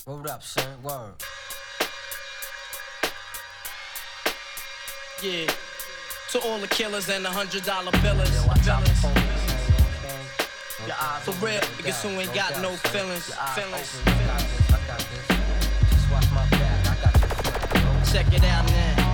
Word up, son. Word. Yeah. To all the killers and the $100 billers. For real, niggas who ain't got no feelings. Feelings. Just watch my back. I got this. Check it out now.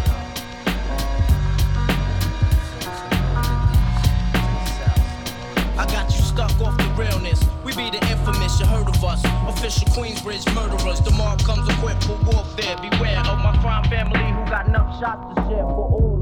I got you stuck off the realness. We be the infamous, you heard of us. Official Queensbridge murderers. The mob comes equipped for warfare. Beware of my crime family who got enough shots to share for all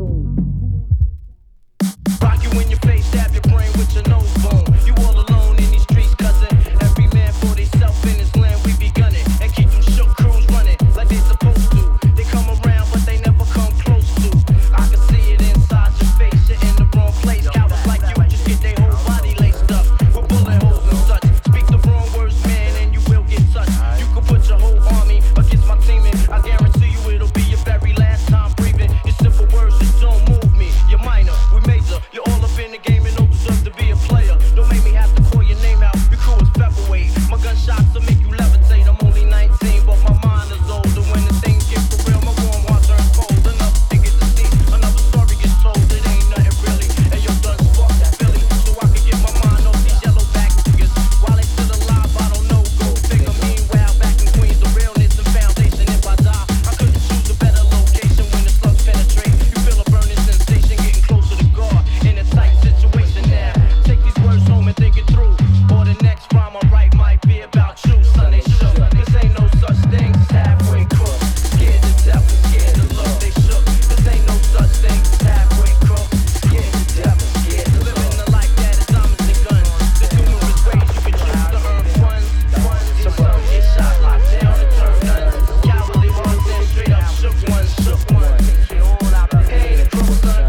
those. Rock you in your face, stab your brain with your nose bone. You all alone in these streets, cousin. Every man for theyself in his land, we be gunning. And keep them shook crews running like they supposed to. They come around, but they never come close to. I can see it inside your face, you're in the wrong place. Cowards like you just get their whole body laced up with bullet holes and such. Speak the wrong words, man, and you will get touched. You can put your whole army against my team, and I guarantee you it'll be your very last time breathing. Your simple words just don't move me. You're minor, we major. You're all up in the game and don't deserve to be a player. Don't make me have to call your name out. Your crew is featherweight. My gunshots will make you levitate. I'm only 19, but my mind is older. When the things get for real, my warm heart turns cold. Another thing is to see, another story gets told. It ain't nothing really. And yo, done spark that Billy, so I can get my mind off these yellow back niggas. While they still alive, I don't know. Go figure. Meanwhile, back in Queens, the realness and foundation. If I die, I couldn't choose a better location when the slugs penetrate. You feel a burning sensation, getting closer to God. In a tight situation now. Take these words home and think it through. Or the next rhyme I write might be about you. Son, they shook. This ain't no such thing as halfway crook. Scared to death, scared to look. They shook. This ain't no such thing as halfway crook. Scared to death, scared to look. Living the life that is diamonds and guns. There's numerous ways you can choose to earn funds. Some get shot, locked down, and turn nuns. Cowardly ones, then straight up shook ones. Shook ones. Hey, the crook, son.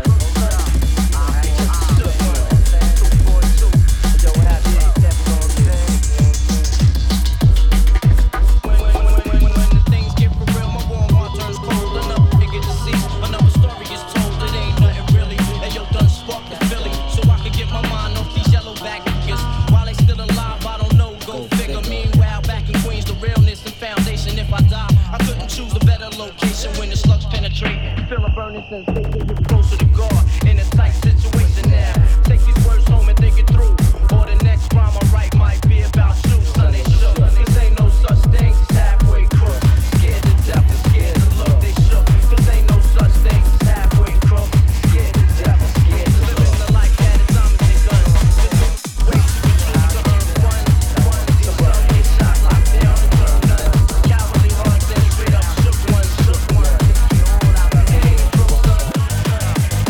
Feel a burning sensation, get closer to God. In a tight situation now. Take these words home and think it through. Or the next rhyme I write might be about you. Son, they shook. This ain't no such thing as halfway crook. Scared to death and scared to look. They shook. This ain't no such thing as halfway crook. Scared to death and scared to look. Living the life that is diamonds and guns. Ways you can choose to earn funds. Some get shot, locked down, and turn nuns. Cowardly ones, then straight up shook ones. Shook ones.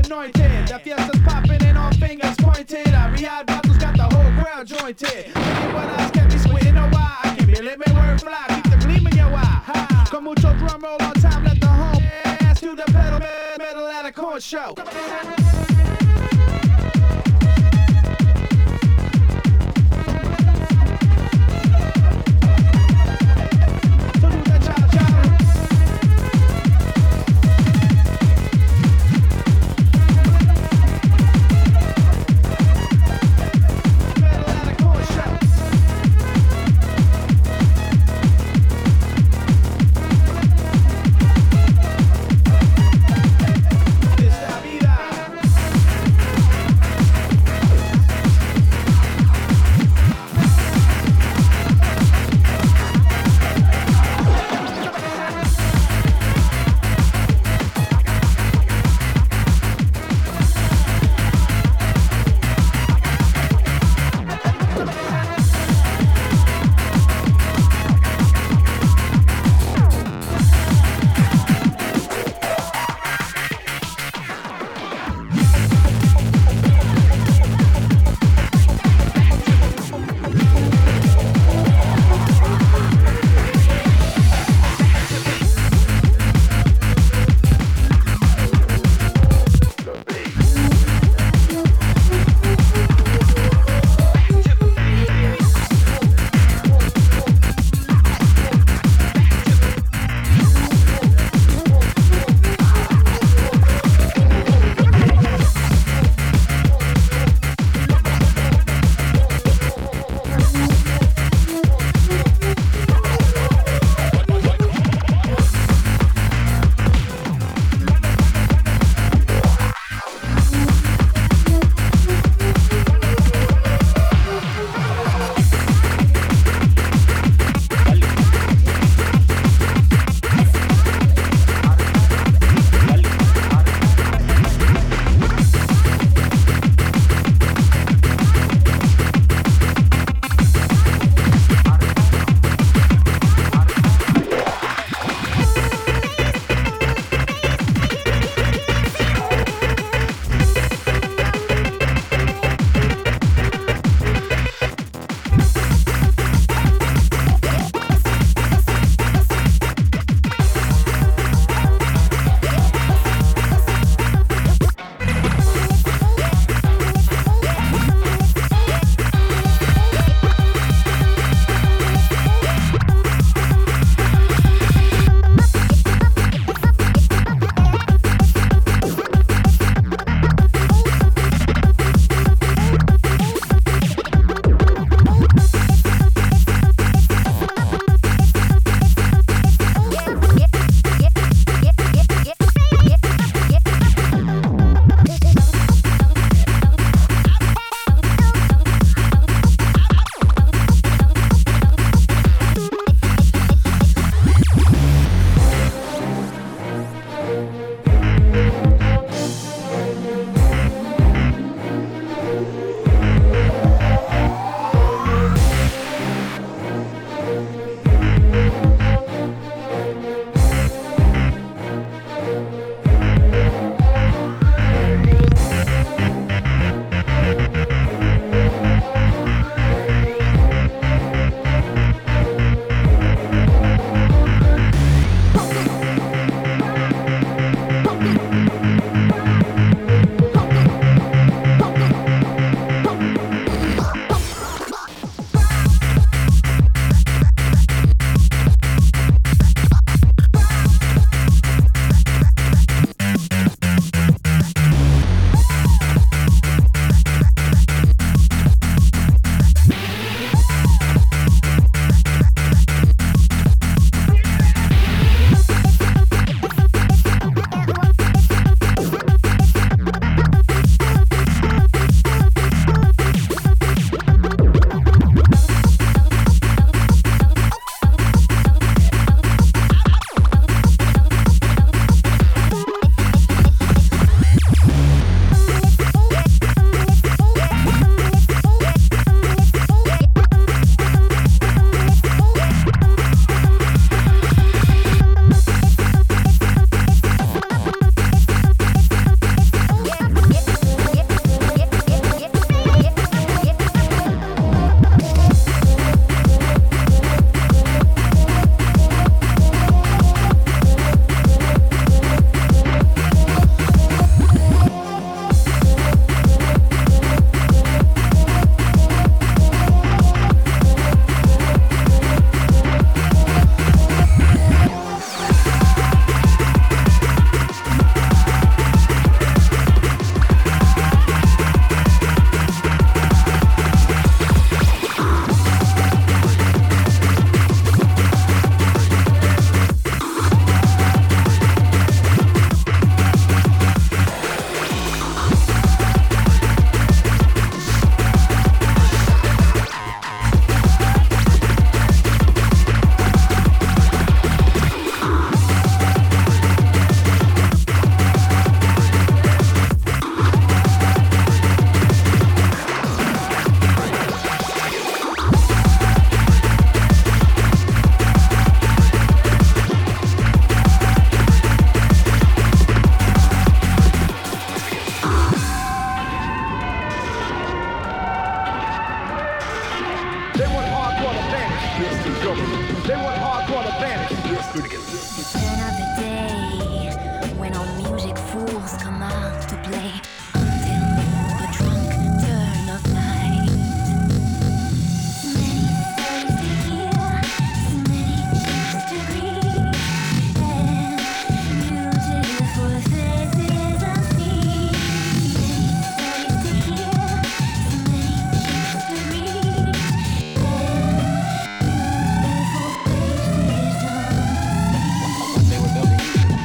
anointed. The fiesta's popping and all fingers pointed. A real battle's got the whole crowd jointed. Look at what else can be squinting a while. I can feel it, me word fly, keep the gleam in your eye. Ha. Con mucho drum roll on time, let the home ass to the pedal, metal at a corn show. Esta vida Another day when all music fools come out to play until the drunk turn of night. Many stories to hear, many chicks to greet, and beautiful faces I see. Many stories to hear, many chicks to greet, and beautiful faces I see. They were building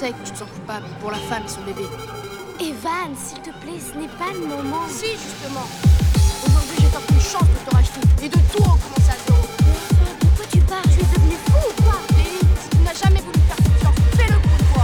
sais que tu te sens coupable pour la femme et son bébé. Evan, s'il te plaît, ce n'est pas le moment. Si, justement. Aujourd'hui, j'ai tant une chance de te racheter et de tout recommencer à zéro. De quoi tu parles? Tu es devenu fou ou quoi? Lélie, si tu n'as jamais voulu faire confiance, fais-le pour une fois.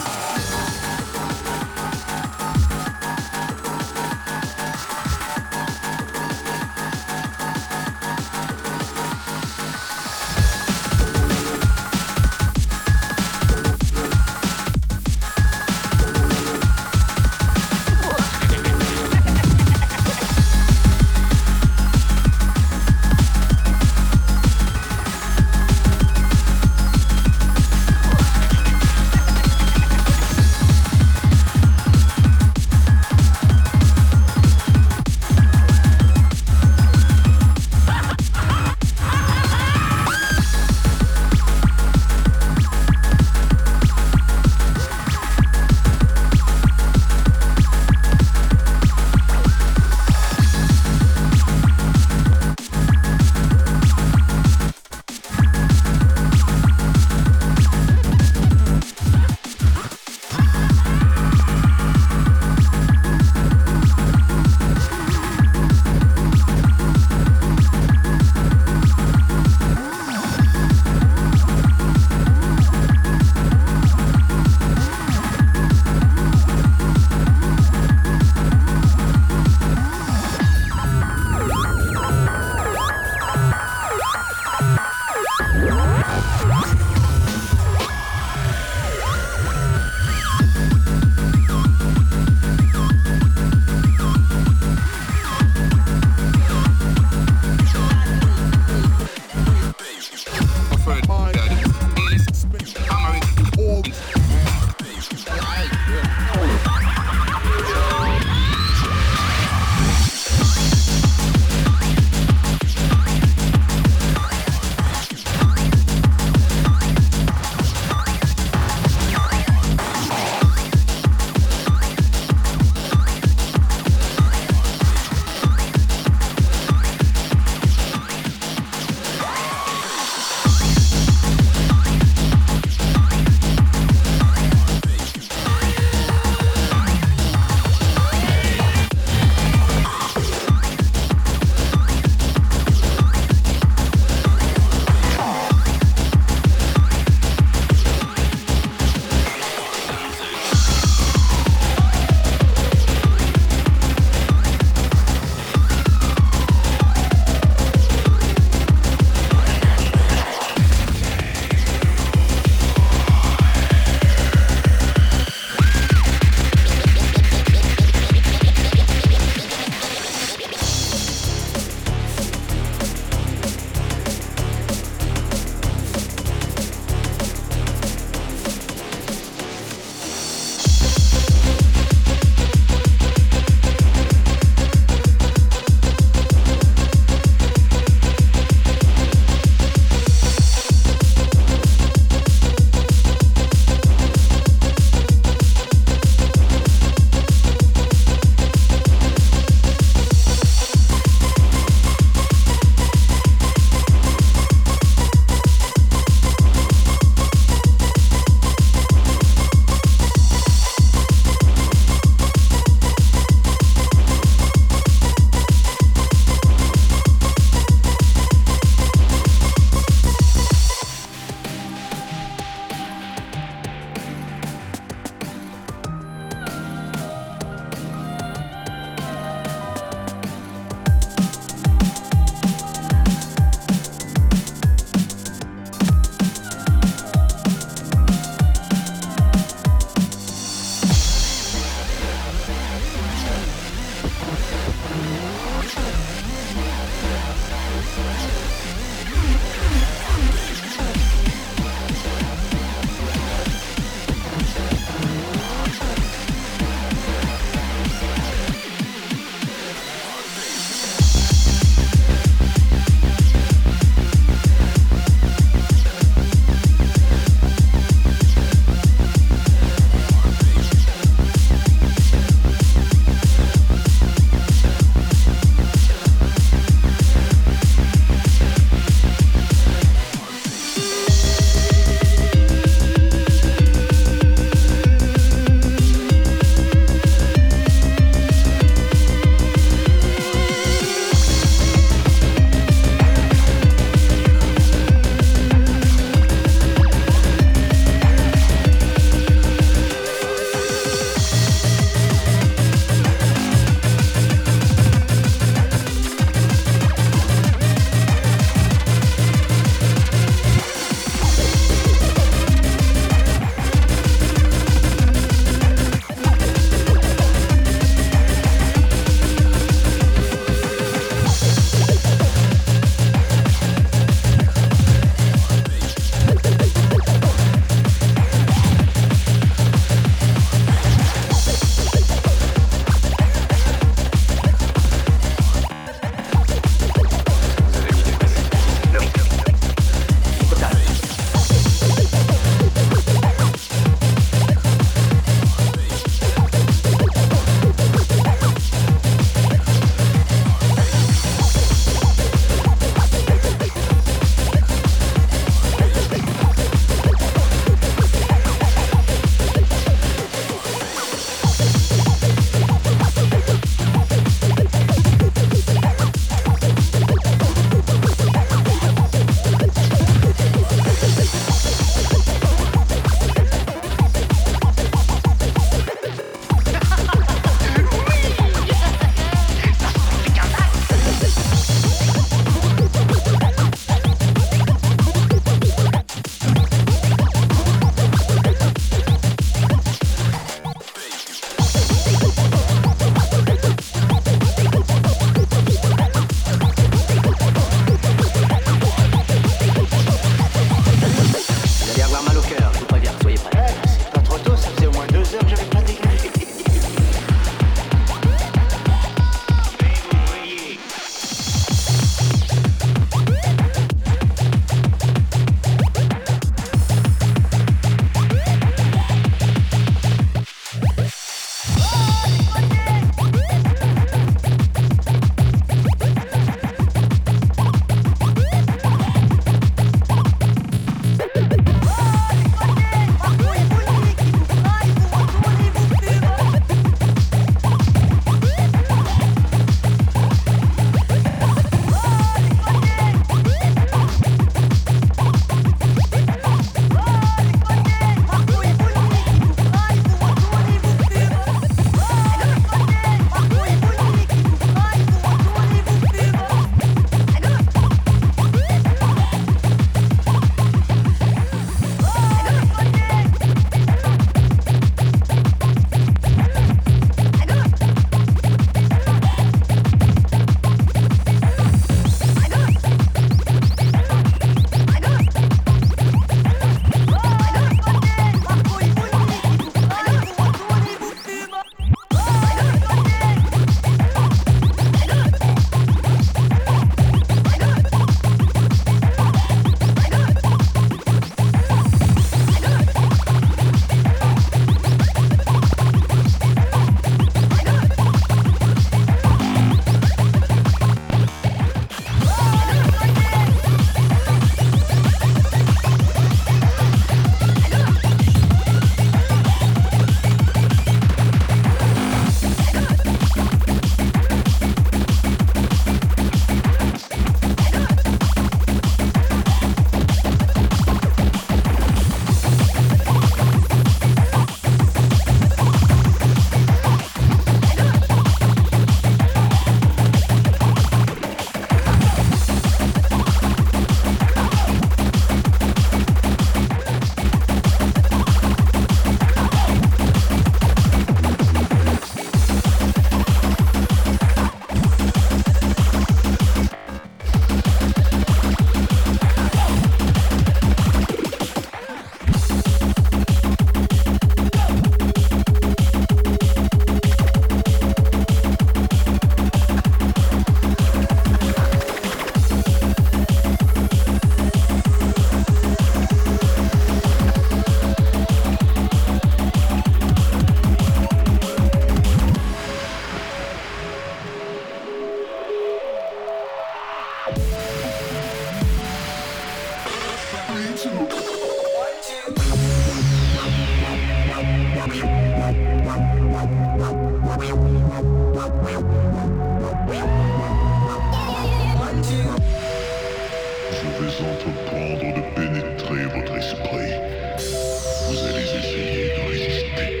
Je vais entreprendre de pénétrer votre esprit. Vous allez essayer de résister.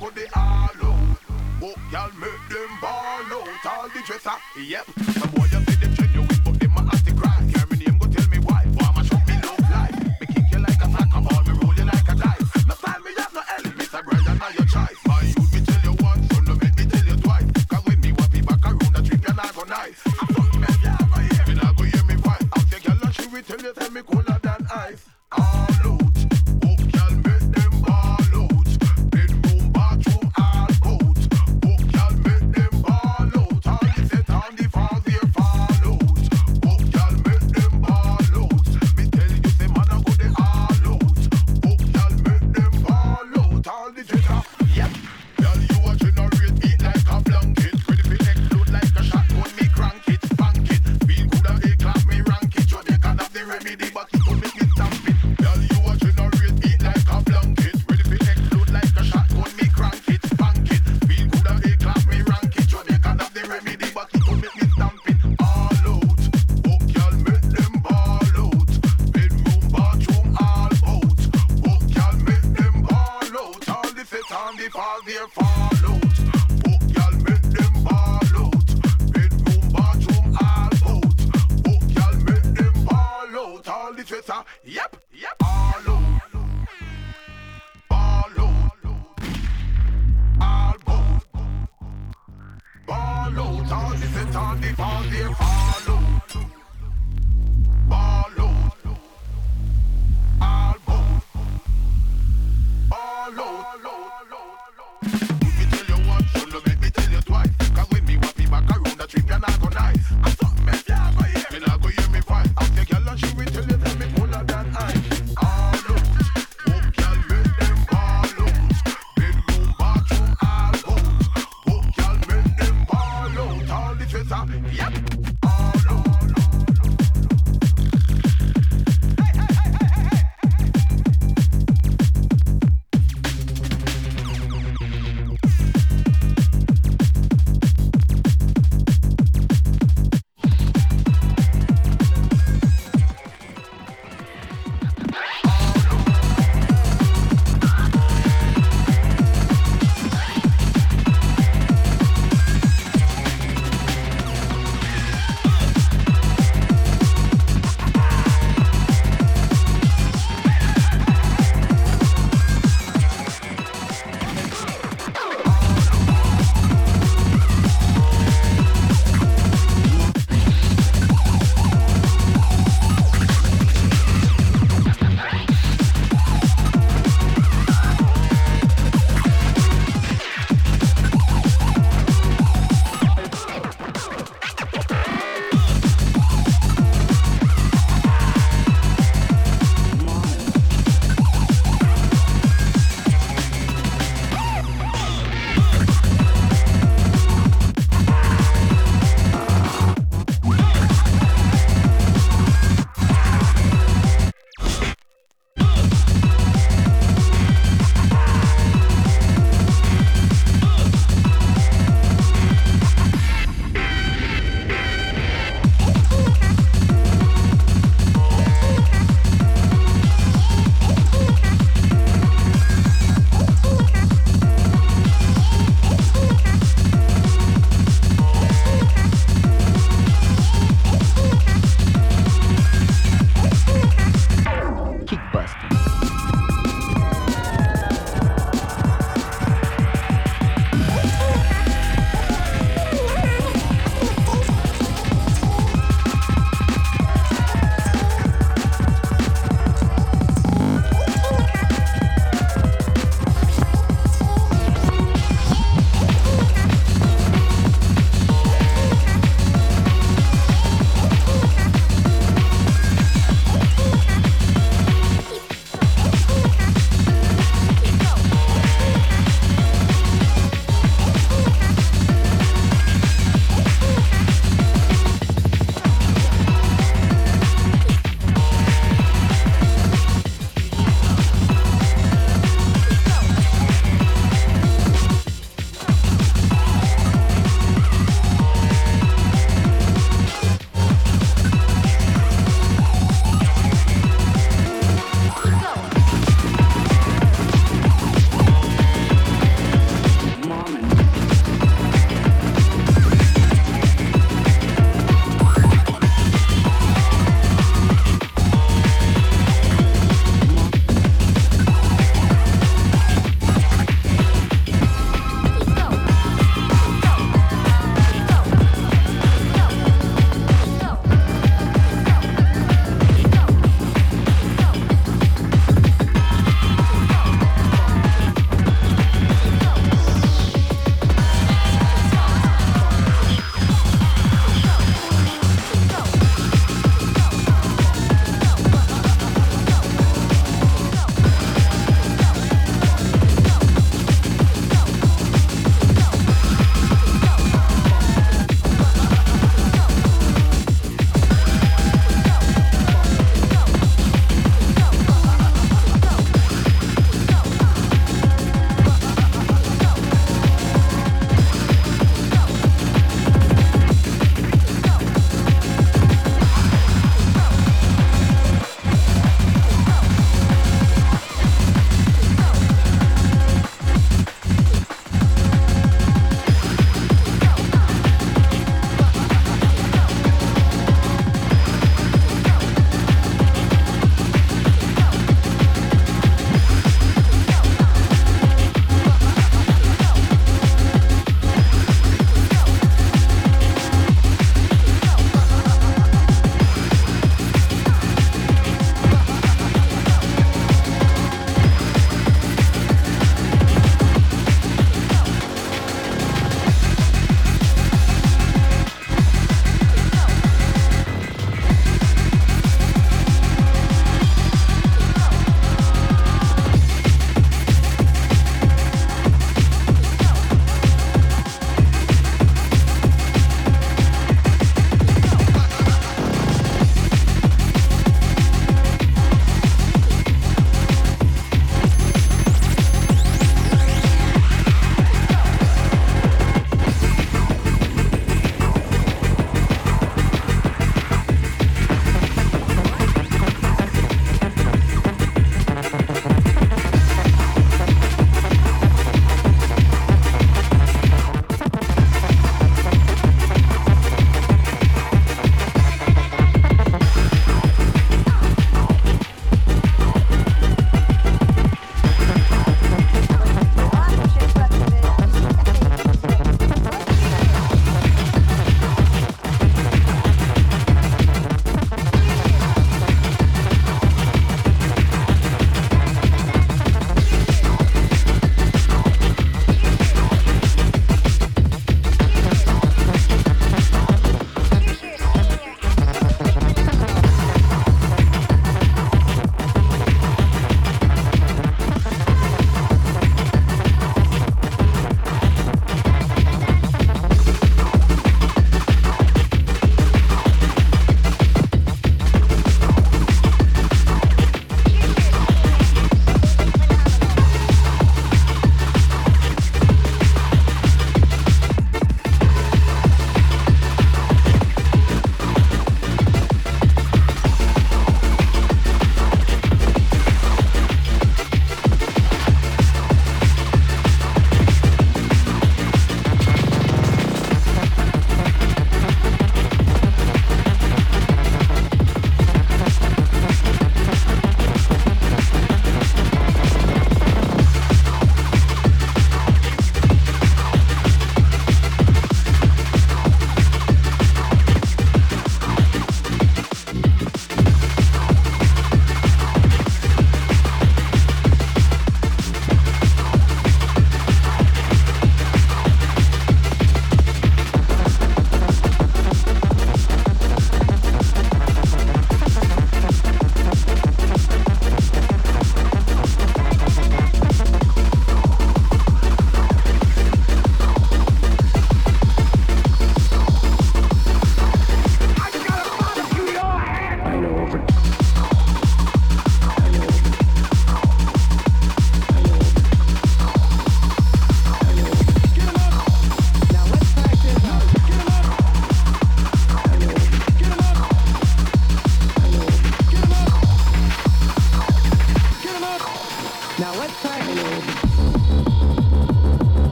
put the all out. Oh, y'all make them ball out. All the dresser, yep. Some boy you say them genuine, but them a have to cry. Hear me name, go tell me why. Farmer show me love life. Me kick you like a soccer ball, me roll you like a dice. No time me have no enemies, I brother now your choice. My youth, me tell you once, so no make me tell you twice. Cause when me want be back around the trip, you not go nice. I'm fucking me, you not go hear me, not go hear me voice. I'll take your lunch, she will tell you, tell me cooler than ice. All out. Oh, y'all make them ball out. Bedroom, bathroom, all out. Oh, y'all make them ball out. All the set on the falls here.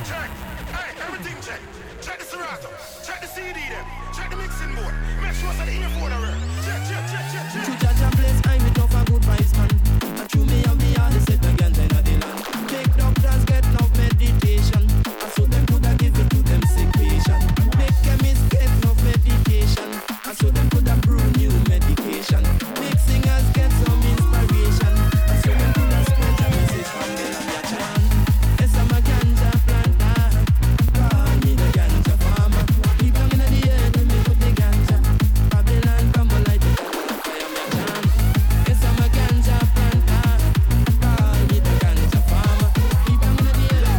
Check. Hey, everything check. Check the Serato. Check the CD them. Check the mixing board. Make sure that the earphone are real. Check. To judge a place, I'm with off a good vibes, man. And through me and me all the set again in the land. Take doctors get enough meditation. And so them coulda give it to them sick patient. Make chemists get enough medication. And so them coulda brew new medication. Big singers get some inspiration. And so them coulda spread a message from the land ya chant. Yes, I'm a ganja planter. Call me the ganja farmer. Deep down in the earth, me put the ganja. Babylon come alive, the fire me chant. Yes, I'm a ganja planter. Call me the ganja farmer. Deep down in the earth.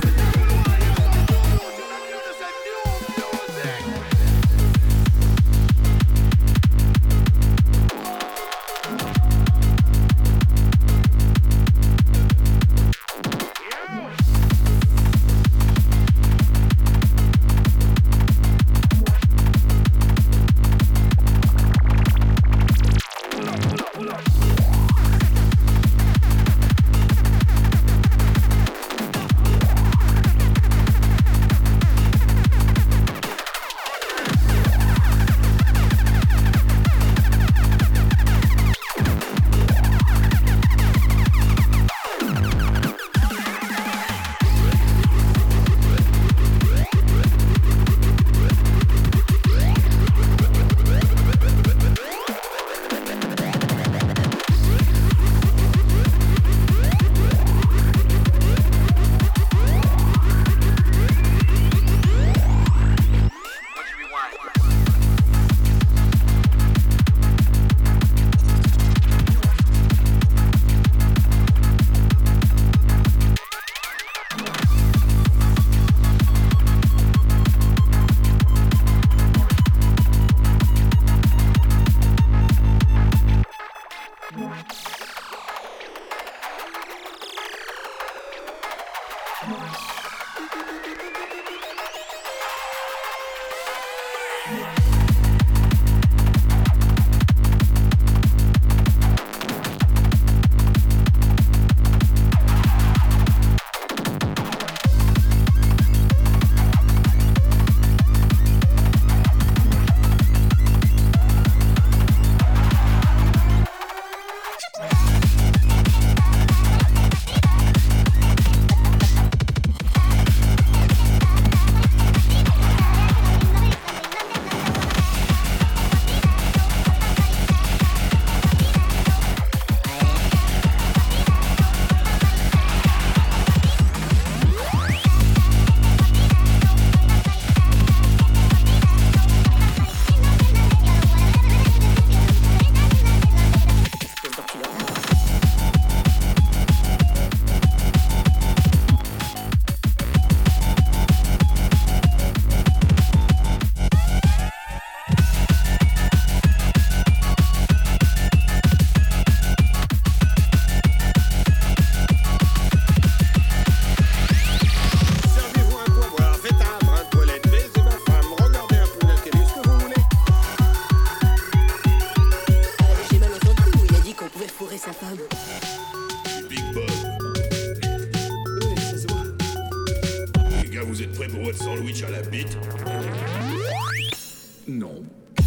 Non.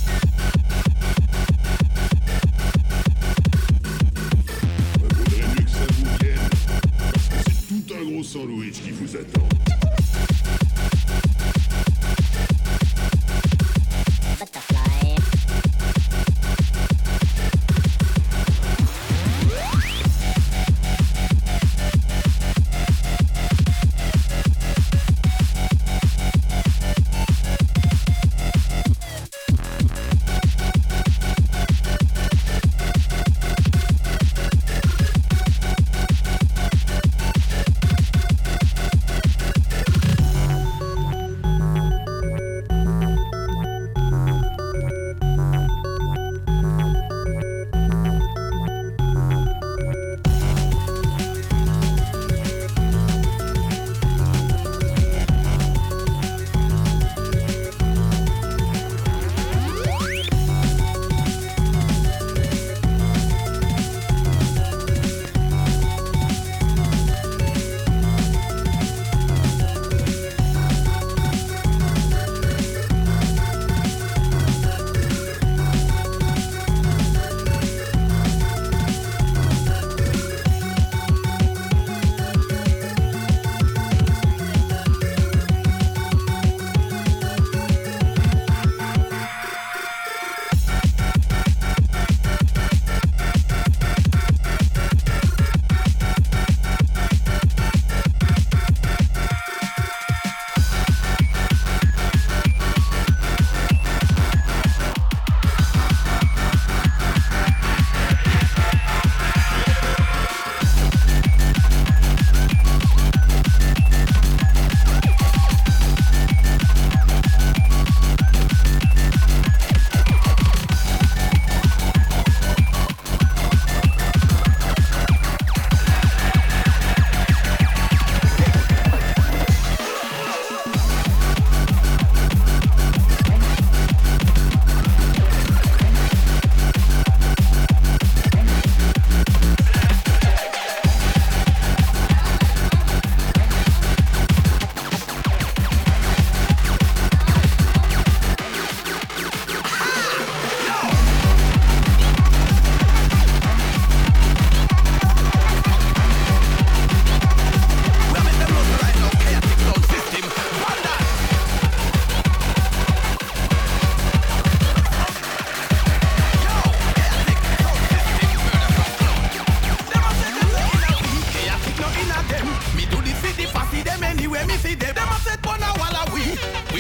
Vaudrait mieux que ça vous vienne, parce que c'est tout un gros sandwich qui vous attend.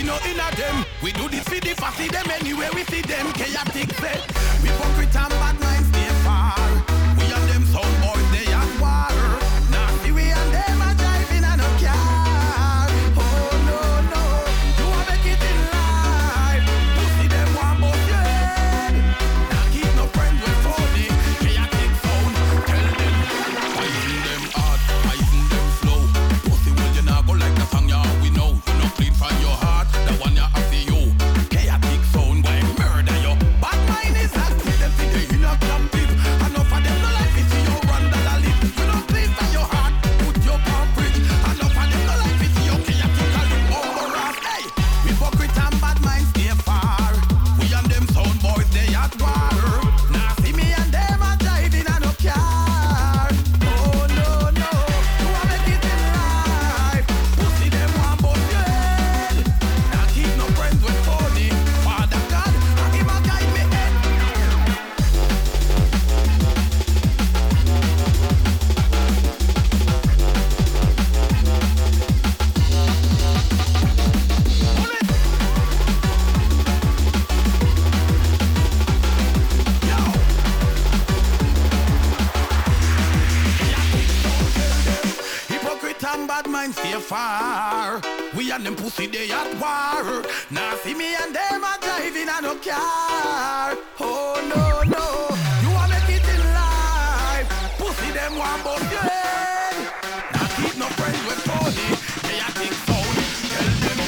no inna them. We do this for the fussy them anywhere we see them. Chaotic set. Hypocrite and bad minds stay far. We and them sound boys they at war. Now see we and them a driving and no car. Oh no no, you a make it in life. Pussy them want both your head. Now keep no friends with phony. Chaotic sound. Tell them, poison them hard, poison them slow. Pussy will you not go like the song ya we know. You no clean from your heart, the one ya have for you. Chaotic sound, why murder you? Bad mind is active, them see the in a camp big. Enough of them no like it, see you run the lip. You no clean from your heart, put your palm bridge. Enough of them no like it, see you chaotic a live over us. Hey, hypocrite and bad minds stay far. We and them sound boys they at war. Now see me and them a driving and no car. Oh no no, you a make it in life. Pussy them want both your head. Now keep no friends with phony. Father God, him a guide me head. Hypocrite and bad minds stay far. We and them pussy they at war. Now see me and them a driving and no car. Oh no no, you a make it in life. Pussy them want both your head. Now keep no friends with phony. They a think sound. Tell them.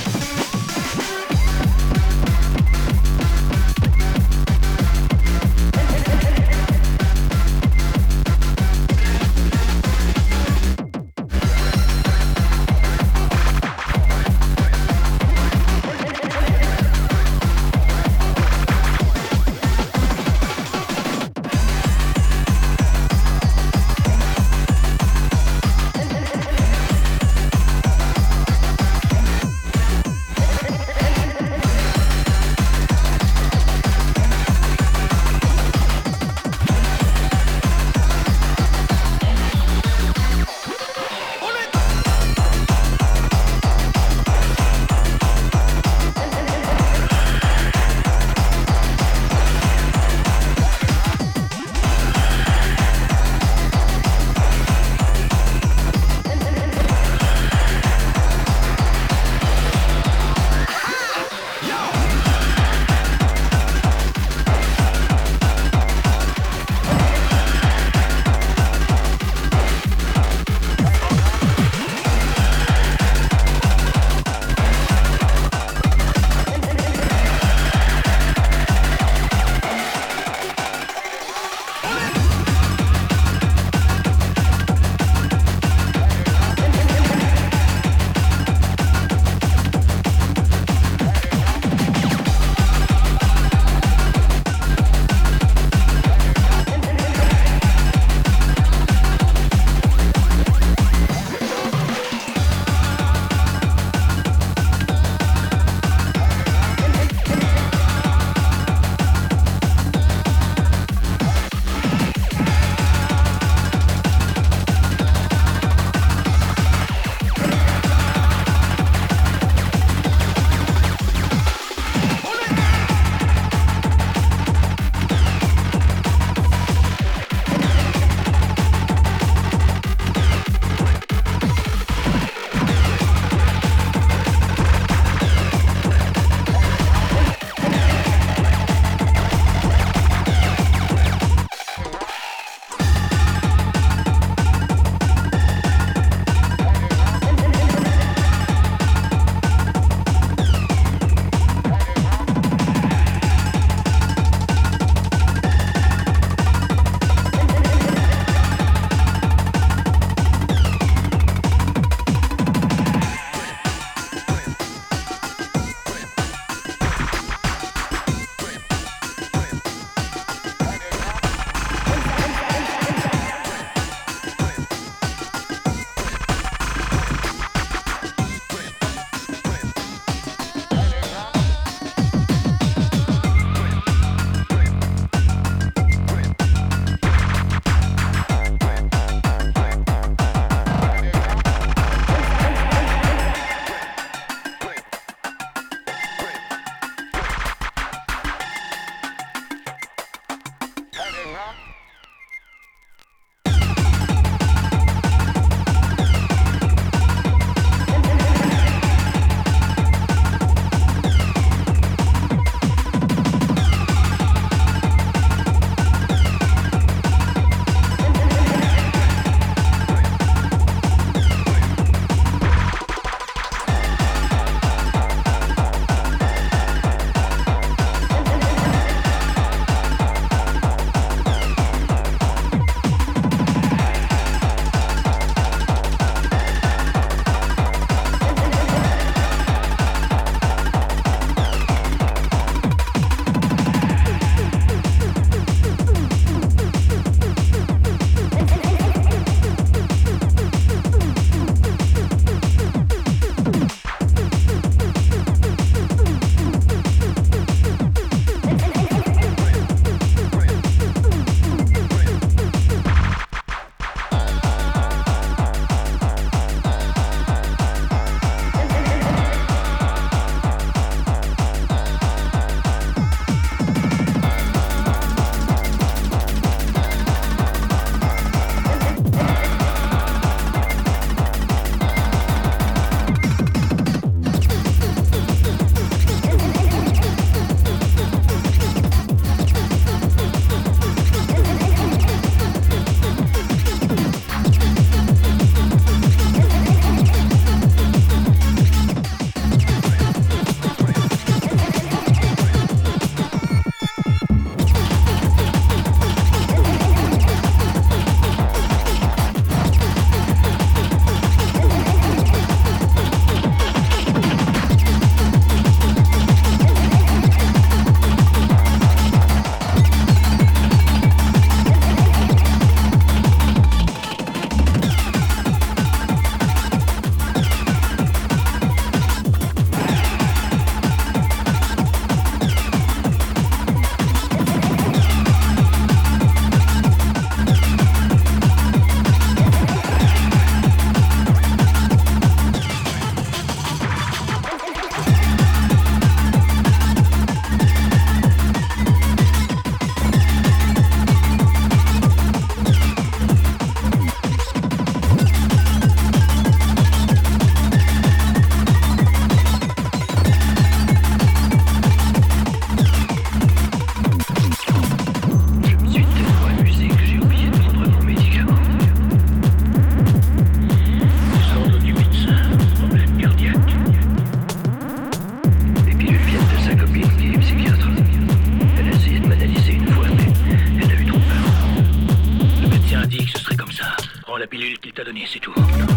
pilule qu'il t'a donnée, c'est tout.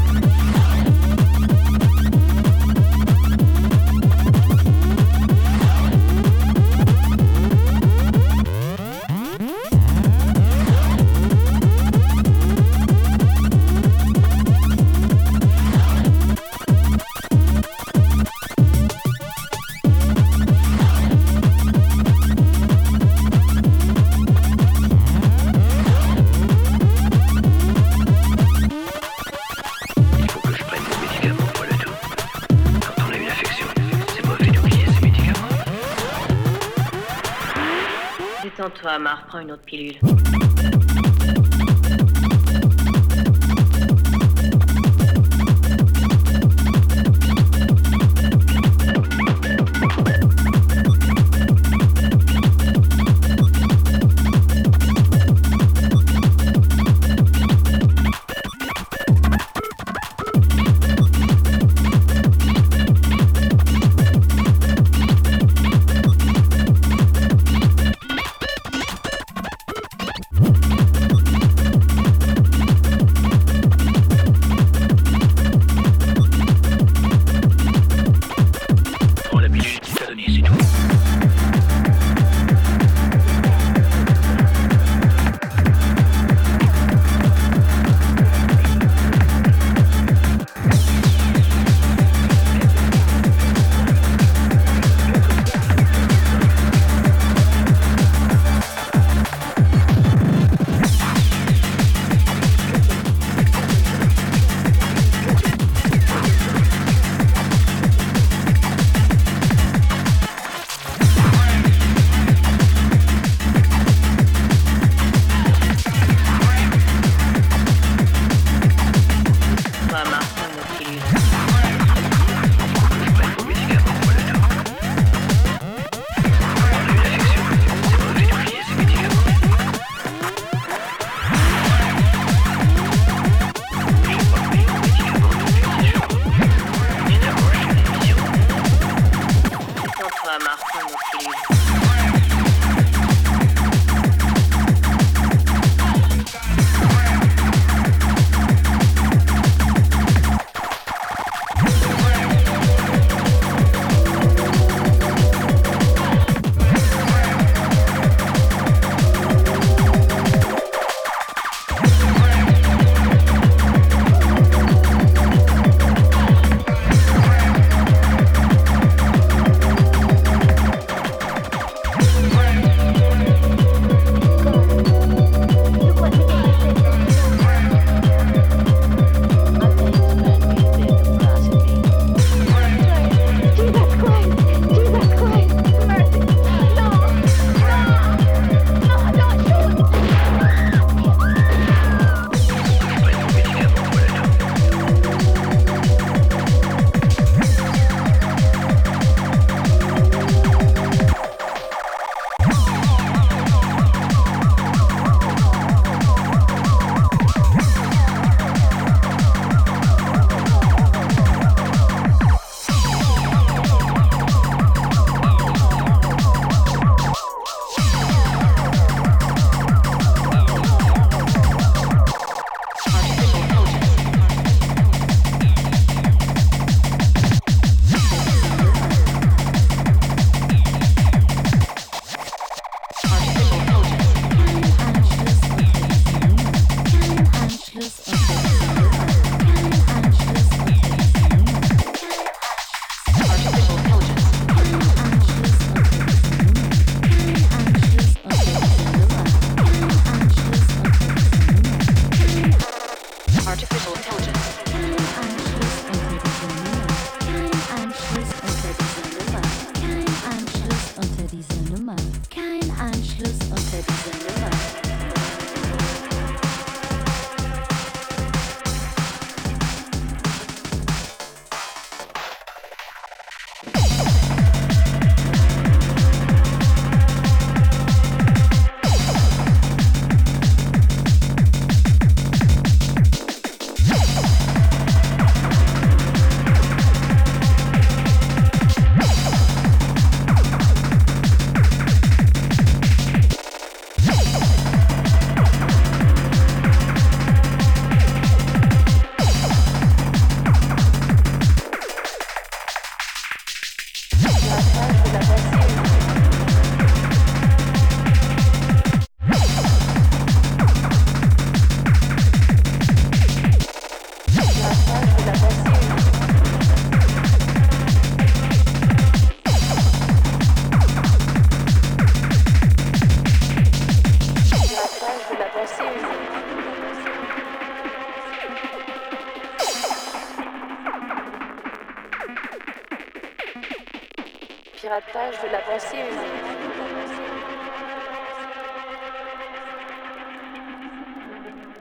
Détends-toi, Mar, prends une autre pilule. piratage de la pensée humaine.